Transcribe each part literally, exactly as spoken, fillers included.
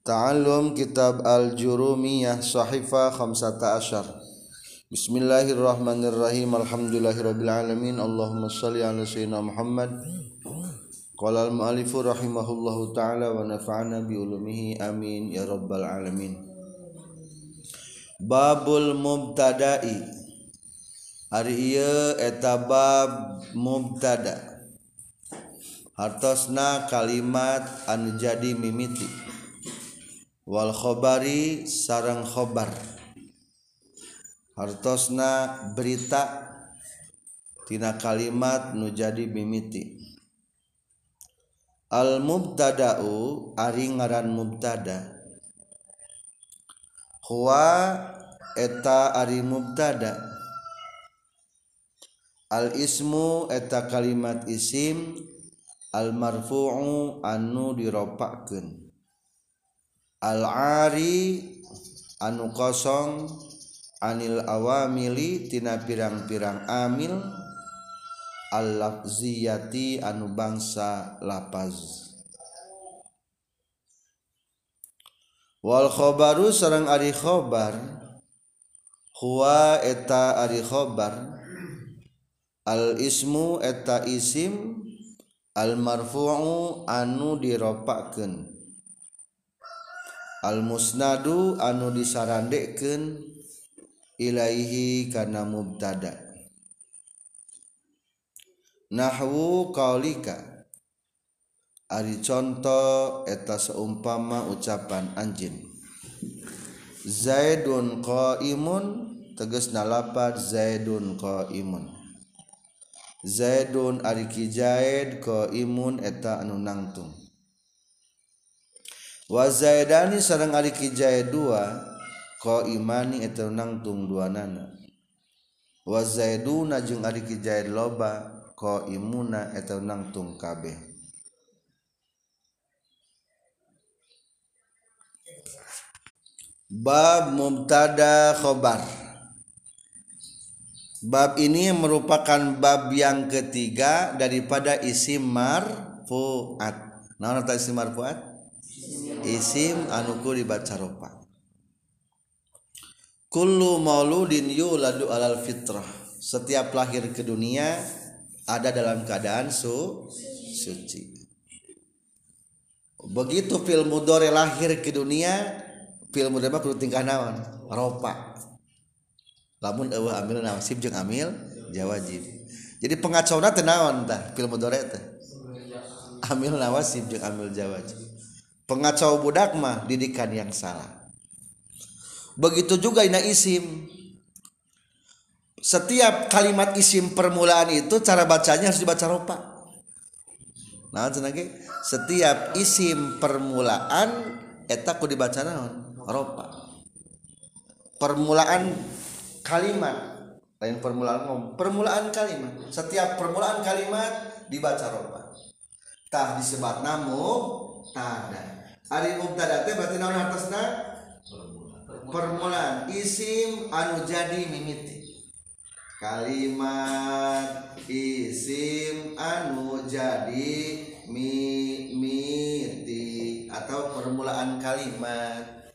Ta'allum Kitab Al-Jurumiyah Sahifah Khamsata Asyar. Bismillahirrahmanirrahim. Alhamdulillahirabbil alamin. Allahumma shalli ala sayyidina Muhammad. Qala al-mu'allifu rahimahullahu ta'ala wa nafa'ana bi ulumihi amin ya rabbal alamin. Babul mubtada'i. Ari ieu eta bab mubtada. Hartosna kalimat anu jadi mimiti. Wal khobari sareng khobar. Hartosna berita tina kalimat nu jadi mimiti. Al mubtada'u ari ngaran mubtada. Huwa eta ari mubtada. Al ismu eta kalimat isim al marfu'u anu diropakkeun. Al ari anu kosong anil awamili tina pirang-pirang amil al lafziyati anu bangsa lapaz. Wal khobaru sareng ari khobar huwa eta ari khobar al ismu eta isim al marfu'u anu diropakkeun al musnadu anu disarandekeun ilaihi kana mubtada. Nahwu qaulika ari contoh eta seumpama ucapan anjeun Zaidun qaimun tegasna lapaz Zaidun qaimun. Zaidun ari ki Zaid qaimun eta anu nangtung. Wa zaidani sareng ari ki Zaid dua qaimani eta nangtung duanana. Wa zaiduna jeung ari ki Zaid loba qaimuna eta nangtung kabeh. Bab mubtada khobar. Bab ini merupakan bab yang ketiga daripada isim marfu'at. Naon eta isim marfu'at? Isim anu ku dibaca ropa. Kullu mauludin yuladu alal fitrah. Setiap lahir ke dunia ada dalam keadaan su suci. Begitu fil mudhari lahir ke dunia, fil mudhari mah kudu tingkah naon? Ropa. Lamun eueuh amil nasib jeung amil jawazib. Jadi pengacauna teh naon tah fil mudhari teh? Amil nawasib jeung amil jawazib. Pengacau budak mah didikan yang salah. Begitu juga ina isim. Setiap kalimat isim permulaan itu cara bacanya harus dibaca ropa. Nah, cenah ge setiap isim permulaan eta kudu dibaca naon? Ropa. Permulaan kalimat lain permulaan ngomong. Permulaan kalimat. Setiap permulaan kalimat dibaca ropa. Tah disebat namu tada. Ari mubtada teh berarti naon hartosna? Permulaan isim anu jadi mimiti. Kalimat isim anu jadi mimiti atau permulaan kalimat.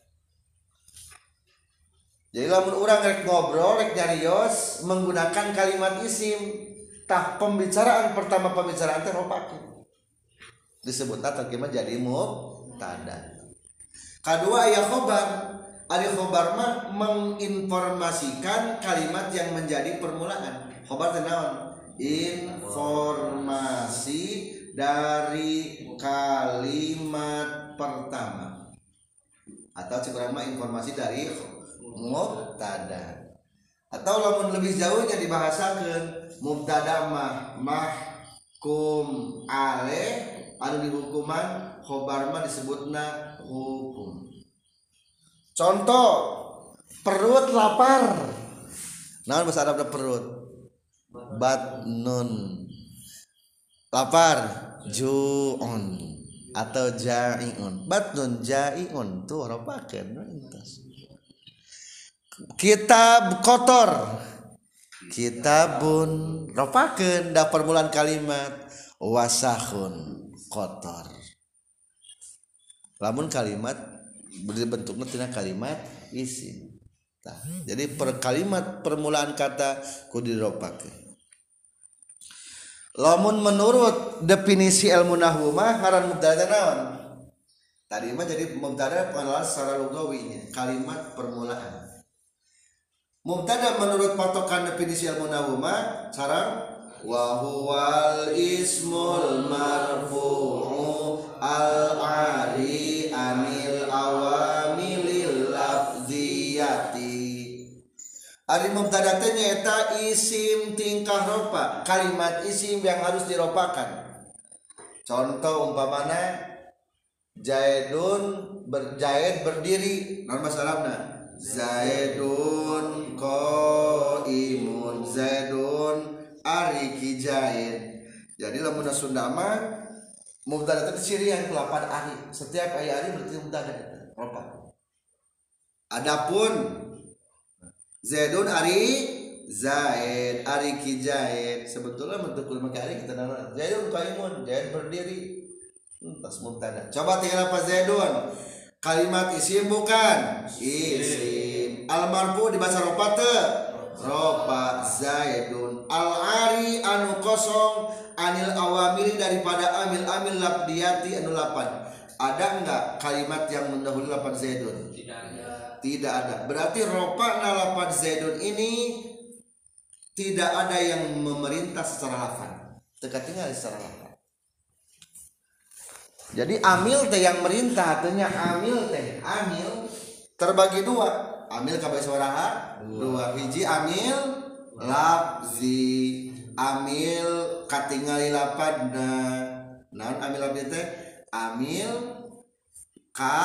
Jadi lamun urang rek ngobrol rek nyarios menggunakan kalimat isim, tah pembicaraan pertama pembicaraan teh ropakeun. Disebut atau gimana jadi mubtada. Kedua aya khobar. Ari khobar mah menginformasikan kalimat yang menjadi permulaan. Khobar teh naon? Informasi dari kalimat pertama. Atau sebenarnya mah informasi dari mubtada. Atau lamun lebih jauhnya dibahasakeun mubtada mah mahkum alaih anu dihukuman khobar mah disebutna hukum. Contoh perut lapar. Naon bahasa Arabna perut? Batnun. Lapar ju'un atau ja'iun. Batnun ja'iun tuh ropakeun entos. Kitab kotor. Kitabun ropakeun da permulaan kalimat wasahun kotor. Lamun kalimat bentukna tina kalimat isim. Nah, jadi per kalimat permulaan kata kudu diropakeun. Lamun menurut definisi ilmu nahwu mah ngaran mubtada naon? Tadi mah jadi mubtada pengenalan secara lugawinya, kalimat permulaan. Mubtada menurut patokan definisi ilmu nahwu mah sareng wa huwal ismul marfu'u al-ari anil awamilil lafziyati. Ari mubtada teh nyaeta isim tingkah ropa, kalimat isim yang harus diropakan. Contoh umpamana Zaidun ber, Zaid berdiri, naon masalahna? Zaidun qaimun, Zaidun ari ki Zaid. Jadi lamun Sunda mah mubtada teh cirian kelapan ari. Setiap aya ari berarti mubtada eta, ropa. Adapun Zaidun ari Zaid, ari ki Zaid. Sebetulnya bentuk make ari kita nama Zaidun qaimun, Zaid berdiri. Tas mubtada. Coba tinggal apa Zaidun? Kalimat isim bukan? Isim. Al marfu dibaca ropa teu? Ropa Zaidun. Al ari anu kosong anil awamil daripada amil-amil labdiyati anu lapan. Ada enggak kalimat yang mendahului lapan Zaidun? Tidak ada. Tidak ada. Berarti ropa nalapan Zaidun ini tidak ada yang memerintah secara lafaz. Teka tinggal secara lafaz. Jadi amil teh yang merintah, artinya amil teh amil terbagi dua. Amil kabeh sabaraha? Dua. Hiji amil lafzi, amil katingali lapadna. Naon amil lafzi teh? Amil ka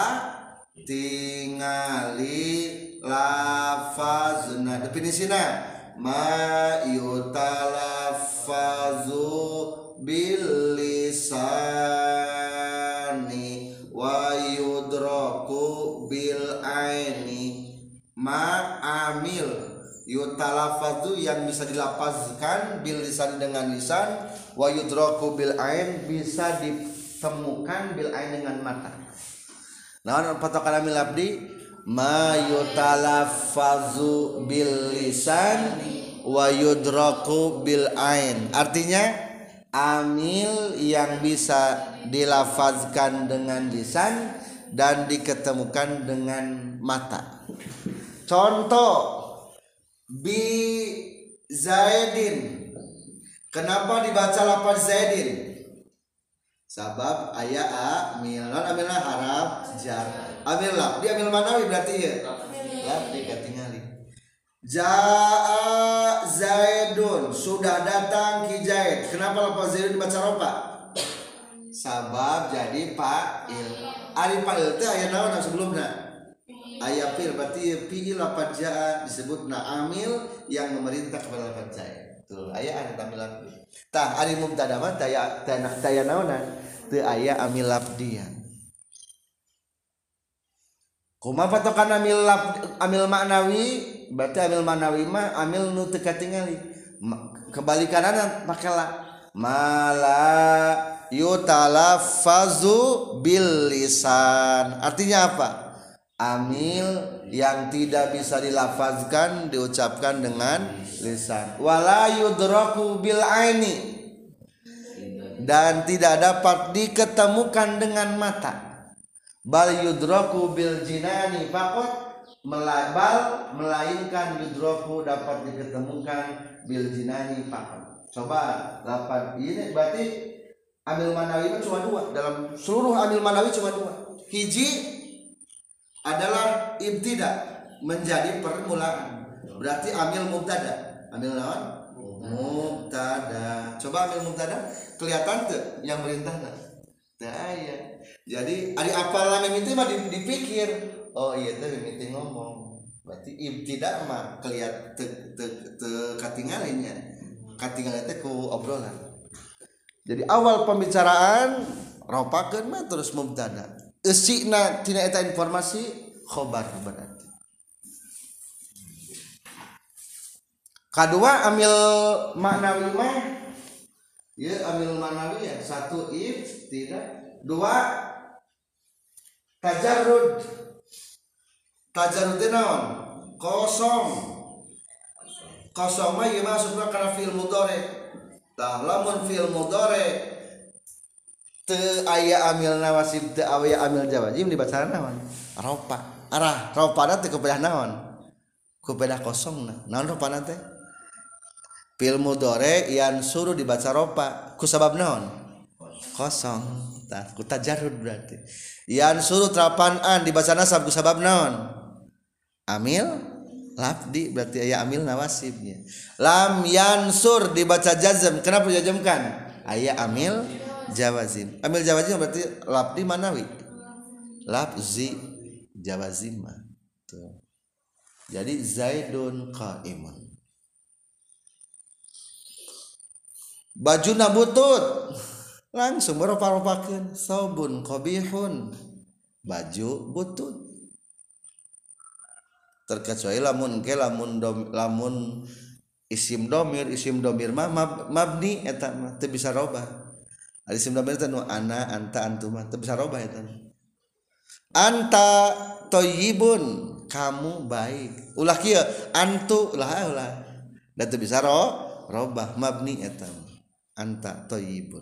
tingali lafazna. Definisina ma yutalaffazu bil lisani wa yudraku bil aini. Ma amil yutalaffazu yang bisa dilafazkan bil lisan dengan lisan, wa yudraku bil ain bisa ditemukan bil ain dengan mata. Nah, patokan amil labdi ma yutalaffazu bil lisan wa yudraku bil ain. Artinya amil yang bisa dilafazkan dengan lisan dan diketemukan dengan mata. Contoh bi Zaidin. Kenapa dibaca lafaz Zaidin? Sabab aya amil, non amilna haraf jar. Amil laf, di amil manawi berarti ya. Laf dikatingali. Jaa Zaidun, sudah datang ki Zaid. Kenapa lafaz Zaidun dibaca ropa? Sabab jadi fa'il. Ari fa'il teh aya naon sebelumna? Aya fi'il, berarti fi'il lafaz jaa disebutna amil yang memerintah kepada lafaz Zaid. Tuh aya anu amil lafzi. Tah ari mubtada mah taya taya naonna? Teu aya amil lafdian. Kumaha patokan amil laf, amil maknawi? Berarti amil maknawi mah amil nu teu katingali. Kebalikanana make la. Mala yutalaffazu bil lisan. Artinya apa? Amil yang tidak bisa dilafazkan diucapkan dengan lisan. Wala yudraku bil aini, dan tidak dapat diketemukan dengan mata. Bal yudraku bil jinani faqat, melabal melainkan yudraku dapat diketemukan bil jinani faqat. Coba lapan ini berarti amil manawi cuma dua, dalam seluruh amil manawi cuma dua. Hiji adalah ibtida, menjadi permulaan, berarti amil mubtada. Amil naon? Mubtada. Coba amil mubtada kelihatan tuh yang merintah nah. Teu aya. Jadi ari apalan mimiti mah dipikir, oh iya teh mimiti ngomong. Berarti ibtida mah kelihatan teu teu katinggalinya. Katinggal teh ku obrolan. Jadi awal pembicaraan ropakeun mah terus mubtada. Eusina tina eta informasi khobar berarti. Kadua amil maknawi mah ya amil maknawi ya satu if tidak, dua tajarrud tajarud teh naon kosong kosong mah ieu maksudna kana fi'il mudhari tah lamun fi'il mudhari teu aya amil nawasib teu aya amil jawazim dibaca naon ropa arah ropana teh kupedah naon kupedah kosongna naon ropana teh fi'il mudhari yang suruh dibaca ropa ku sabab naon kosong tah ku tajarrud berarti yang suruh terapan an dibaca nasab ku sabab naon amil lafdi berarti aya amil nawasibnya lam yansur dibaca jazm kenapa dijazmkan aya amil jawazim amil jawazim berarti lafdi manawi lafzi jawazim tuh jadi zaidun qaimun bajuna butut langsung berupa-rupakeun saubun qabihun baju butut terkecuali lamun ke lamun dom, lamun isim domir isim domir mah mab, mabni eta mah teu bisa robah ari isim domir teh nu ana anta antuma teu bisa robah eta anta thayyibun kamu baik ulah kieu antu ulah ulah da teu bisa ro robah mabni eta anta thayyibun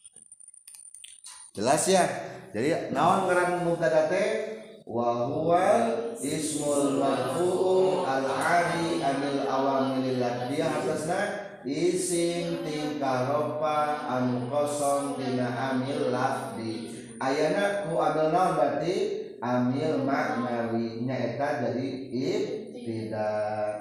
jelas ya jadi naon ngaran mubtada teh wa huwa ismul marfu'u al-'ali anil awamil ladiyah atasna isim tingkah ropa anu kosong tina amil lafdi ayana ku amil naon berarti amil maknawi nya eta jadi ibtida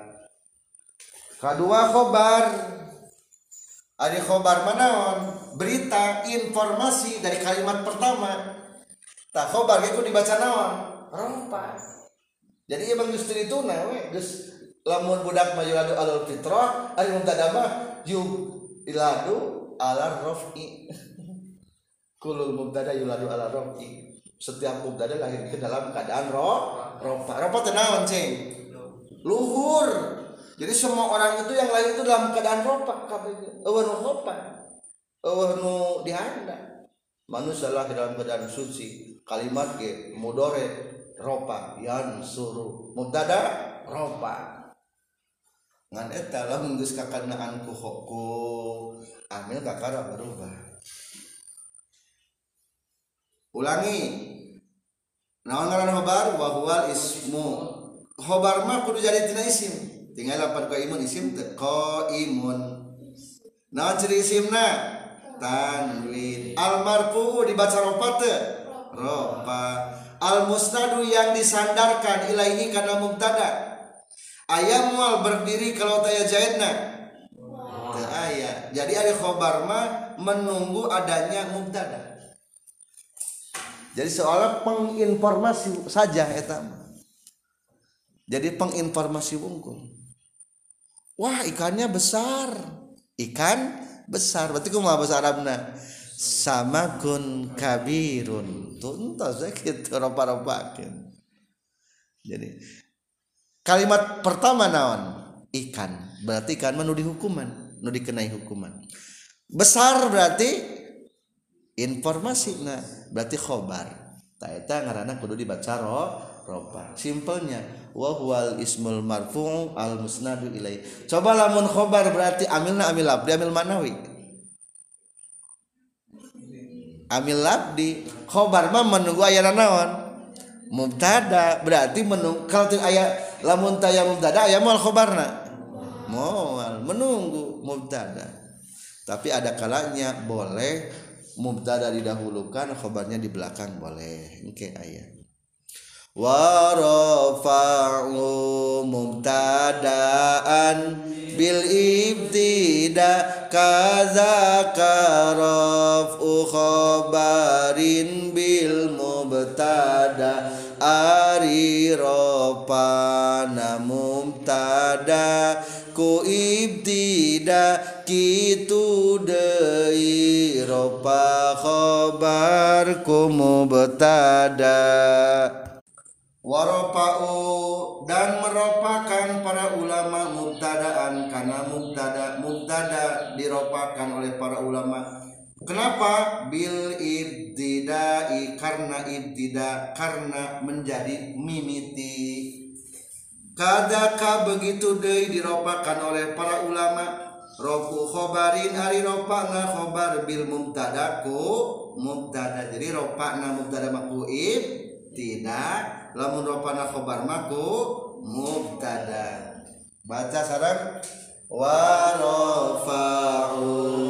kadua khobar ari khobar manaon berita informasi dari kalimat pertama tah khobar ge ku dibaca naon rompa jadi emang geus teu dituna we geus lamun budak mah yuladu alal fitrah ari mubtada mah yu iladu ala raf'i kulul mubtada yuladu ala raf'i setiap mubtada lahir ke dalam keadaan ro rompa rompa teh naon cing luhur jadi semua orang itu yang lahir itu dalam keadaan rompa kabeh eueuh nu rompa eueuh nu dihanda manusia lahir dalam keadaan suci kalimat ge mudhari ropa yan suruh mubtada ropa ngan eta lamun geus kakanaan ku ku amil kakara berubah ulangi naon ngaran khobar wa huwal ismu khobar mah kudu jadi tina isim tinggal lapan qaimun isim teu qaimun naon ciri isimna tanwin al marfu dibaca ropa teu ropa al musnadu yang disandarkan ilaihi kana mubtada aya moal berdiri kalau taya jaidna teu aya jadi ari khobar mah menunggu adanya mubtada jadi seolah penginformasi saja eta mah jadi penginformasi wungkul wah ikannya besar ikan besar berarti kumaha bahasa Arabna samakun kabirun tuntas kitu ropa-ropakeun jadi kalimat pertama naon ikan berarti ikan mah nu dihukuman nu dikenai hukuman besar berarti informasi nah berarti khobar ta eta ngaranna kudu dibaca ro ropa simpelnya wa huwal ismul marfu' al musnadu ilai coba lamun khobar berarti amilna amil labdi amil manawi amil labdi khobar mah menunggu ayana naon mubtada berarti menunggu kalau aya lamun taya mubtada aya moal khobarna moal menunggu mubtada tapi ada kalanya boleh mubtada didahulukan khobarnya di belakang boleh engke aya wa rafa'u mubtada'an bil ibtida kaza karaf'u khabarin bil mubtada ari rafa'na mubtada ku ibtida kitu deui rafa khabar ku mubtada warafa'u dan meropakan para ulama mubtadaan karena mubtada mubtada diropakan oleh para ulama Kenapa? Bil ibtidai, karena ibtida, karena menjadi mimiti. Kadaka begitu deui diropakan oleh para ulama. Rofu khobarin ari ropana khobar bil mubtadaku mubtada. Jadi ropana mubtada maku ibtida, lamun ropana khobar maku mubtada. Baca sareng wa rafa'u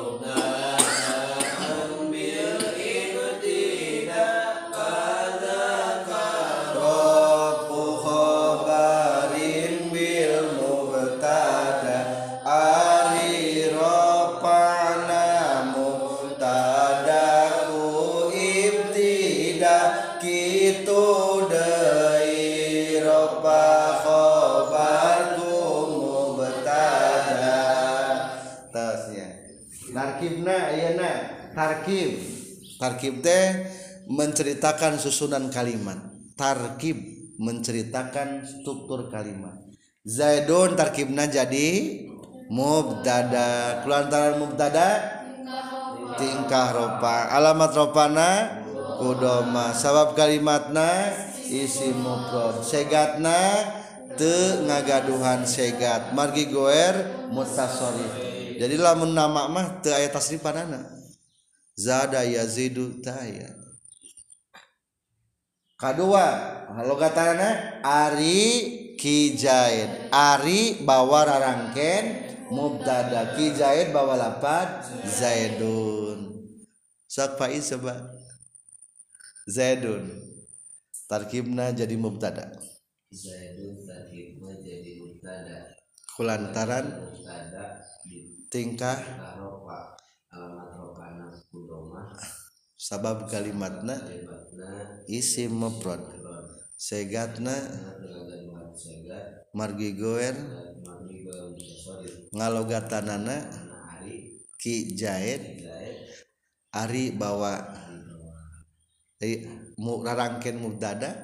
tarkib. Tarkib teh menceritakan susunan kalimat. Tarkib menceritakan struktur kalimat. Zaidun tarkibna jadi mubtada. Kulantaran mubtada tingkah ropa. Alamat ropana kudoma. Sabab kalimatna isim mufrad. Segatna teu ngagaduhan segat. Margi goer mutasharrif. Jadi lamun nama mah teu aya tasrifanana. Zada yazidu taya. Kedua, logatana ari kijaid. Ari bawa rarangken mubtada, kijaid bawa lapad zaidun. Sok faiz coba. Zaidun. Tarkibna jadi mubtada. Zaidun tarkibna jadi mubtada. Kulantaran mubtada tingkah rofa. Alamat rofana kudoma. Sabab kalimatna isim mufrad. Segatna margi goer ngalogatanana ki jaid ari bawa. Jadi mu rarangkeun mubtada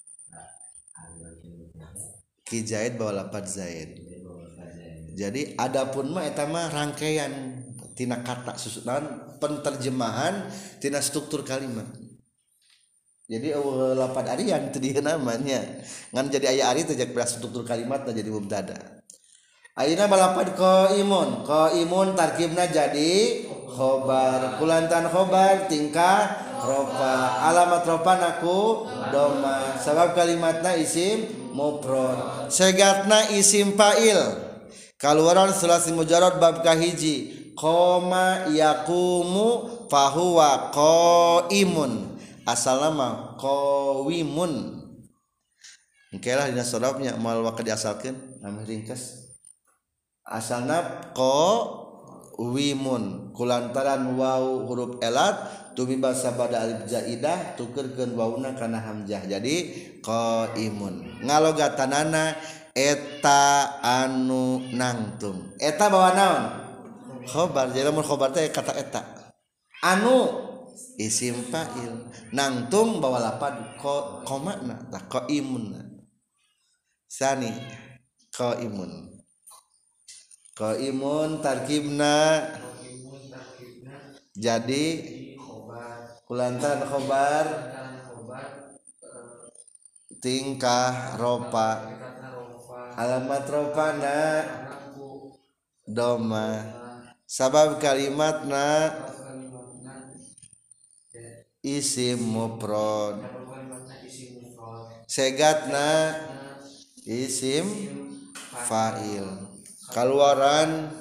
ki jaid bawa lapad zaid. Jadi adapun mah eta mah rangkaian tina kata susunan penterjemahan tina struktur kalimat. Jadi uh, lapad arian teu dieu namanya ngan jadi aya ari teh jak struktur kalimat jadi mubtada. Ayeuna balapad qaimun. Qaimun tarkibna jadi khobar. Kulantan khobar tingkah rofa. Alamat rofa naku doma. Sabab kalimatna isim mufrad. Segatna isim fa'il. Kaluaran sulasi mujarrad bab kahiji. Qoma yaqumu fahuwa qaimun. Asalna mah qawimun. Engke lah dina sorabnya mal waqad diasalkeun anu ringkas. Asalna qawimun. Kulantaran waw huruf elat tumiba sabada alif zaidah tukeurkeun wawna kana hamzah. Jadi qaimun. Ngalogatanana eta anu nangtung. Eta bawa naon? Khobar. Jadi mun khobar teh kata eta. Anu isim fa'il. Nangtung bawa lapad ko komana tah qaimun. Sani qaimun. Qaimun tarkibna jadi kulantan khobar tingkah ropa. Alamat ropana doma. Sabab kalimatna isim mufrad. Segatna isim fa'il. Kaluaran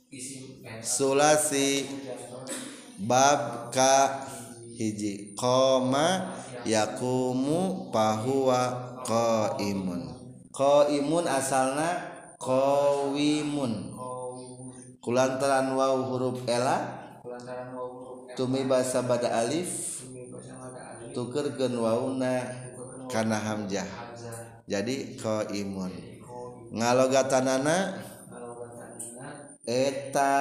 sulasi bab ka hiji. Qoma yaqumu fahuwa qaimun. Qaimun asalna qawimun. Kulantaran waw huruf ela tumiba sabada alif tukeurkeun wawna kana hamzah. Jadi qaimun. Ngalogatanana eta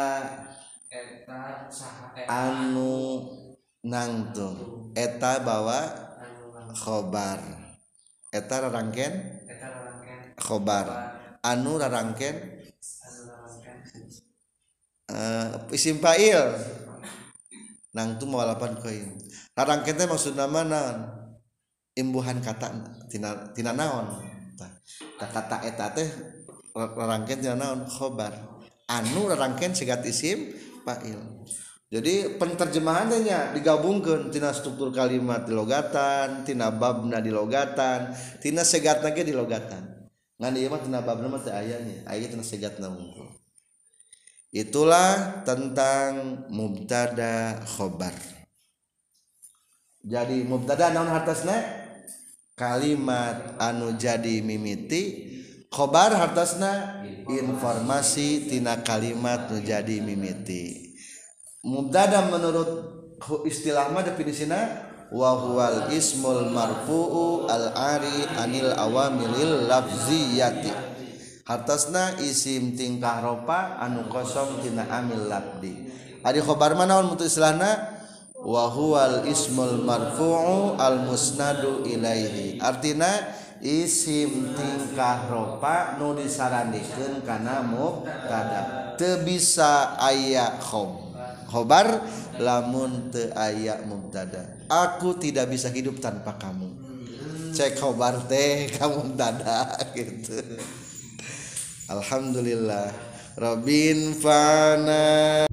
anu nangtung. Eta bawa khobar. Eta rarangkeun khobar. Anu rarangkeun uh, isim fa'il. nang tu mawalapan koin rarangkeun teh maksudna naon imbuhan kata tina tina naon tah kata eta teh rarangkeun tina naon khobar anu rarangkeun sigat isim fa'il. Jadi penterjemahannya digabungkan tina struktur kalimat di logatan, tina babna di logatan, tina segatna ge di logatan. Ngan ieu mah tina babna mah teu aya nya, aya tina segatna unggul. Itulah tentang mubtada khobar. Jadi mubtada naon hartosna? Kalimat anu jadi mimiti, khobar hartosna informasi tina kalimat nu jadi mimiti. Mubtada menurut istilah mah definisina wa huwal ismul marfu'u al ari anil awamilil lafziyati. Hartosna isim tingkah ropa anu kosong tina amil labdi. Ari khobar mah naon mutu istilahna wa huwal ismul marfu'u al musnadu ilaihi. Artina isim tingkah ropa nu disarandikeun kana mubtada. Teu bisa aya khobar khobar lamun teu aya mubtada. Aku tidak bisa hidup tanpa kamu. Cek khobar teh ka mubtada gitu. Alhamdulillah Rabbin fana